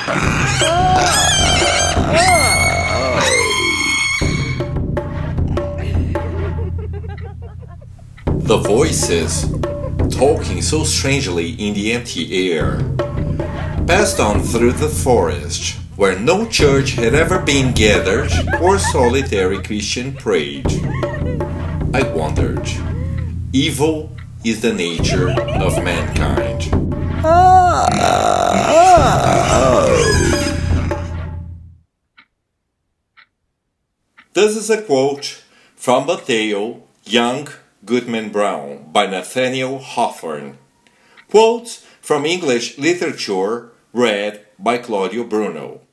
The voices, talking so strangely in the empty air, passed on through the forest, where no church had ever been gathered or solitary Christian prayed. I wondered, evil is the nature of mankind. This is a quote from the tale Young Goodman Brown by Nathaniel Hawthorne. Quotes from English literature read by Claudio Bruno.